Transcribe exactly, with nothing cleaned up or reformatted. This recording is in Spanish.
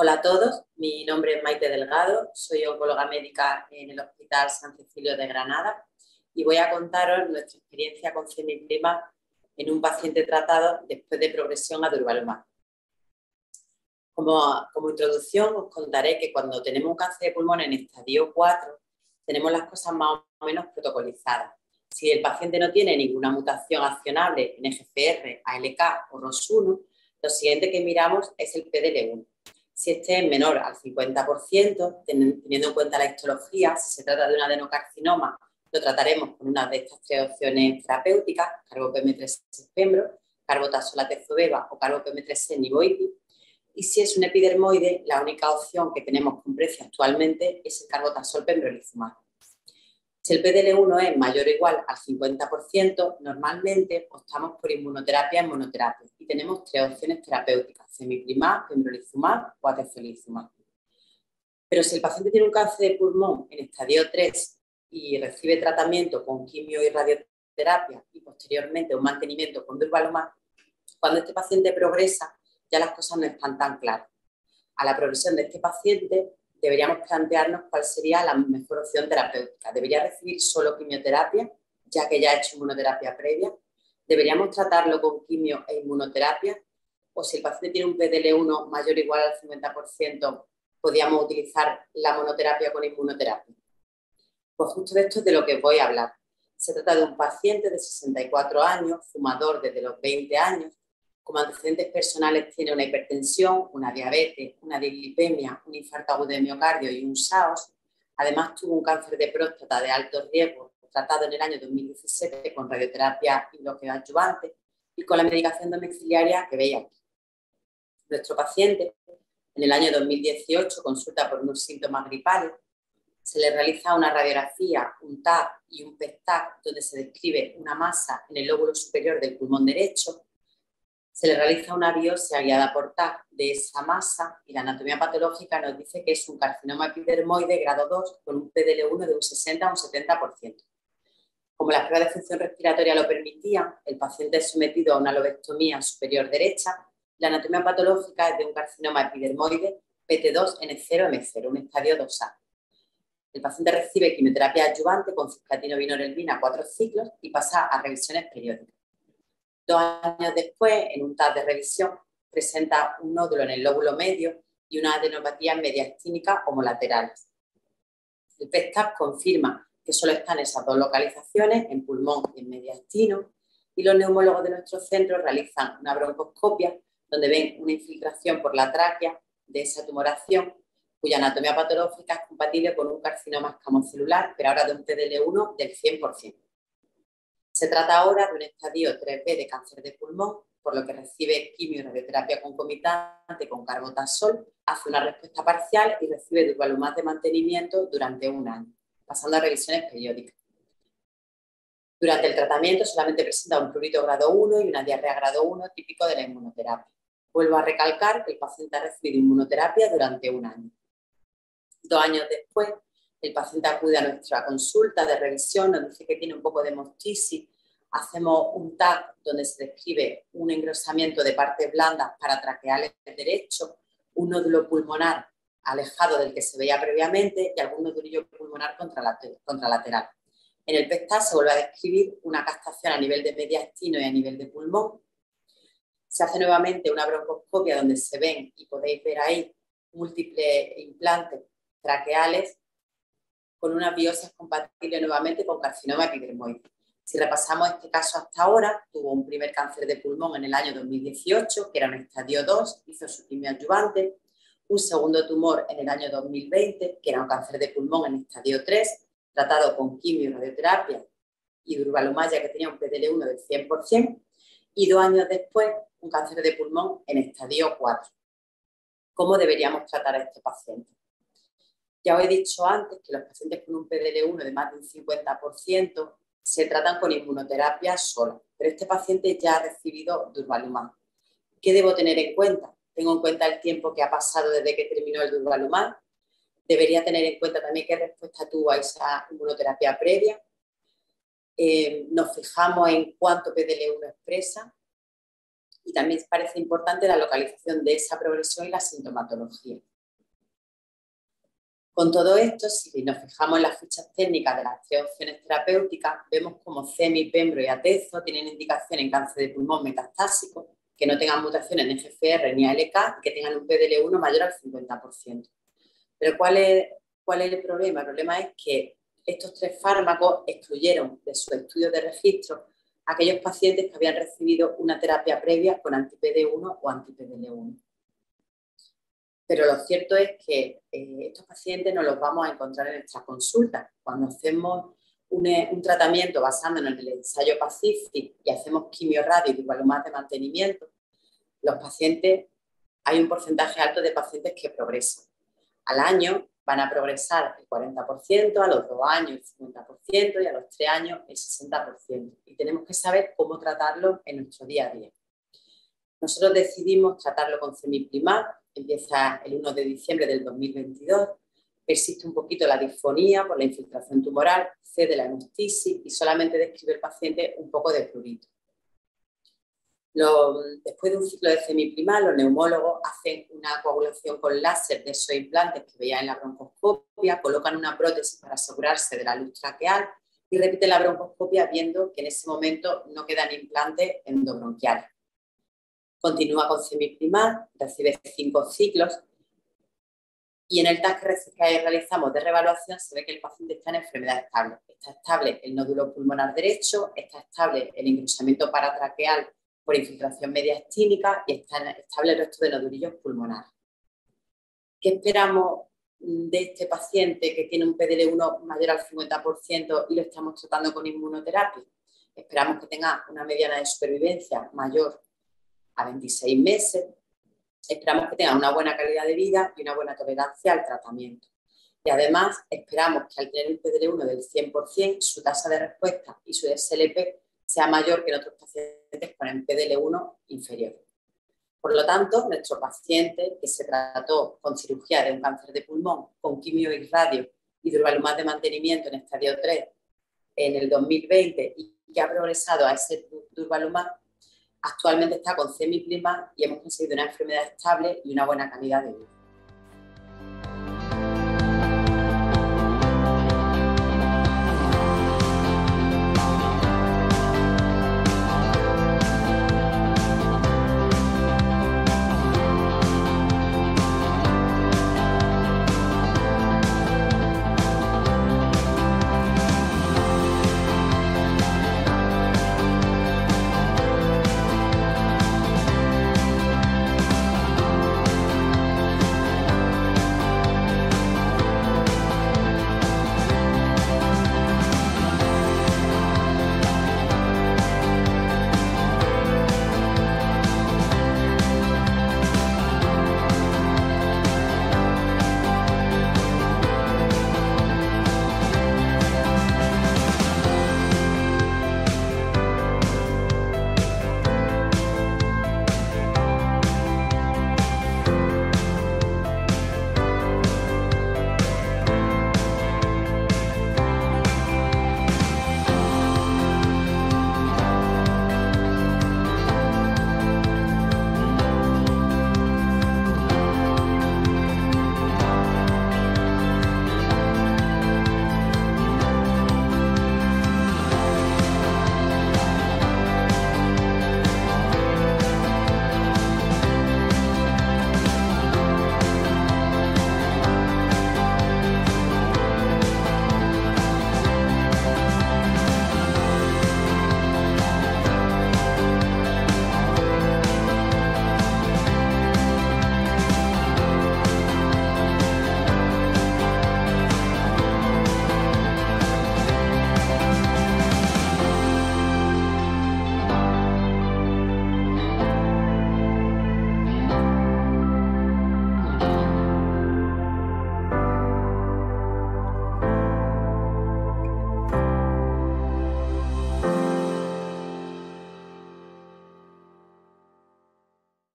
Hola a todos, mi nombre es Maite Delgado, soy oncóloga médica en el Hospital San Cecilio de Granada y voy a contaros nuestra experiencia con cemiplimab en un paciente tratado después de progresión a durvalumab. Como, como introducción os contaré que cuando tenemos un cáncer de pulmón en estadio cuatro tenemos las cosas más o menos protocolizadas. Si el paciente no tiene ninguna mutación accionable en E G F R, A L K o R O S uno, lo siguiente que miramos es el P D L uno. Si este es menor al cincuenta por ciento, teniendo en cuenta la histología, si se trata de un adenocarcinoma, lo trataremos con una de estas tres opciones terapéuticas, carbo-P M tres pembro, carbotazolatezobeva o carbo-P M tres nivoipi. Y si es un epidermoide, la única opción que tenemos con precio actualmente es el carbotazol pembrolizumab. Si el P D L uno es mayor o igual al cincuenta por ciento, normalmente optamos por inmunoterapia en monoterapia y tenemos tres opciones terapéuticas: cemiplimab, pembrolizumab o atezolizumab. Pero si el paciente tiene un cáncer de pulmón en estadio tres y recibe tratamiento con quimio y radioterapia y posteriormente un mantenimiento con durvalumab, cuando este paciente progresa ya las cosas no están tan claras. A la progresión de este paciente deberíamos plantearnos cuál sería la mejor opción terapéutica. ¿Debería recibir solo quimioterapia, ya que ya ha hecho inmunoterapia previa? ¿Deberíamos tratarlo con quimio e inmunoterapia? O si el paciente tiene un P D L uno mayor o igual al cincuenta por ciento, ¿podríamos utilizar la monoterapia con inmunoterapia? Pues justo de esto es de lo que voy a hablar. Se trata de un paciente de sesenta y cuatro años, fumador desde los veinte años. Como antecedentes personales tiene una hipertensión, una diabetes, una dislipemia, un infarto agudo de miocardio y un S A O S. Además tuvo un cáncer de próstata de alto riesgo tratado en el año dos mil diecisiete con radioterapia y bloqueo adyuvante y con la medicación domiciliaria que veis aquí. Nuestro paciente en el año dos mil dieciocho consulta por unos síntomas gripales. Se le realiza una radiografía, un T A C y un P E T A C donde se describe una masa en el lóbulo superior del pulmón derecho. Se le realiza una biopsia guiada por T A C de esa masa y la anatomía patológica nos dice que es un carcinoma epidermoide grado dos con un P D L uno de un sesenta a un setenta por ciento. Como las pruebas de función respiratoria lo permitían, el paciente es sometido a una lobectomía superior derecha. La anatomía patológica es de un carcinoma epidermoide P T dos N cero M cero, un estadio dos A. El paciente recibe quimioterapia adyuvante con cisplatina vinorelbina cuatro ciclos y pasa a revisiones periódicas. Dos años después, en un T A C de revisión, presenta un nódulo en el lóbulo medio y una adenopatía mediastínica homolaterales. El P E T A C confirma que solo están esas dos localizaciones, en pulmón y en mediastino, y los neumólogos de nuestro centro realizan una broncoscopia donde ven una infiltración por la tráquea de esa tumoración, cuya anatomía patológica es compatible con un carcinoma escamocelular, pero ahora de un P D L uno del cien por ciento. Se trata ahora de un estadio tres B de cáncer de pulmón, por lo que recibe quimio y radioterapia concomitante con carbotazol, hace una respuesta parcial y recibe durvalumab de mantenimiento durante un año, pasando a revisiones periódicas. Durante el tratamiento solamente presenta un prurito grado uno y una diarrea grado uno típico de la inmunoterapia. Vuelvo a recalcar que el paciente ha recibido inmunoterapia durante un año. Dos años después, el paciente acude a nuestra consulta de revisión, nos dice que tiene un poco de hemoptisis. Hacemos un T A C donde se describe un engrosamiento de partes blandas paratraqueales derecho, un nódulo pulmonar alejado del que se veía previamente y algún nodulillo pulmonar contralateral. En el P E T A C se vuelve a describir una castación a nivel de mediastino y a nivel de pulmón. Se hace nuevamente una broncoscopia donde se ven, y podéis ver ahí, múltiples implantes traqueales con una biopsia compatible nuevamente con carcinoma epidermoide. Si repasamos este caso hasta ahora, tuvo un primer cáncer de pulmón en el año dos mil dieciocho, que era un estadio dos, hizo su quimio adyuvante, un segundo tumor en el año dos mil veinte, que era un cáncer de pulmón en estadio tres, tratado con quimio y radioterapia y durvalumab, ya que tenía un P D L uno del cien por ciento, y dos años después, un cáncer de pulmón en estadio cuatro. ¿Cómo deberíamos tratar a este paciente? Ya os he dicho antes que los pacientes con un P D L uno de más de un cincuenta por ciento se tratan con inmunoterapia sola, pero este paciente ya ha recibido durvalumab. ¿Qué debo tener en cuenta? Tengo en cuenta el tiempo que ha pasado desde que terminó el durvalumab. Debería tener en cuenta también qué respuesta tuvo a esa inmunoterapia previa. Eh, nos fijamos en cuánto P D L uno expresa y también parece importante la localización de esa progresión y la sintomatología. Con todo esto, si nos fijamos en las fichas técnicas de las tres opciones terapéuticas, vemos como CEMI, Pembro y Atezo tienen indicación en cáncer de pulmón metastásico, que no tengan mutaciones en G F R ni A L K y que tengan un P D L uno mayor al cincuenta por ciento. Pero ¿cuál es, cuál es el problema? El problema es que estos tres fármacos excluyeron de sus estudios de registro a aquellos pacientes que habían recibido una terapia previa con anti-P D uno o anti-P D L uno. Pero lo cierto es que eh, estos pacientes no los vamos a encontrar en nuestras consultas. Cuando hacemos un, un tratamiento basándonos en el ensayo Pacific y hacemos quimio-radio y más de mantenimiento, los pacientes, hay un porcentaje alto de pacientes que progresan. Al año van a progresar el cuarenta por ciento, a los dos años el cincuenta por ciento y a los tres años el sesenta por ciento. Y tenemos que saber cómo tratarlo en nuestro día a día. Nosotros decidimos tratarlo con cemiplimab. Empieza el uno de diciembre del dos mil veintidós, persiste un poquito la disfonía por la infiltración tumoral, cede la hemoptisis y solamente describe el paciente un poco de prurito. Lo, después de un ciclo de cemiplimab, los neumólogos hacen una coagulación con láser de esos implantes que veían en la broncoscopia, colocan una prótesis para asegurarse de la luz traqueal y repiten la broncoscopia viendo que en ese momento no quedan implantes endobronquiales. Continúa con cemiplimab, recibe cinco ciclos y en el test que realizamos de reevaluación se ve que el paciente está en enfermedad estable. Está estable el nódulo pulmonar derecho, está estable el engrosamiento paratraqueal por infiltración mediastínica y está estable el resto de nodulillos pulmonares. ¿Qué esperamos de este paciente que tiene un P D L uno mayor al cincuenta por ciento y lo estamos tratando con inmunoterapia? Esperamos que tenga una mediana de supervivencia mayor a veintiséis meses, esperamos que tenga una buena calidad de vida y una buena tolerancia al tratamiento. Y además esperamos que al tener un P D L uno del cien por ciento, su tasa de respuesta y su S L P sea mayor que en otros pacientes con el P D L uno inferior. Por lo tanto, nuestro paciente que se trató con cirugía de un cáncer de pulmón, con quimio y radio y durvalumab de mantenimiento en estadio tres en el dos mil veinte y que ha progresado a ese durvalumab, actualmente está con cemiplimab y hemos conseguido una enfermedad estable y una buena calidad de vida.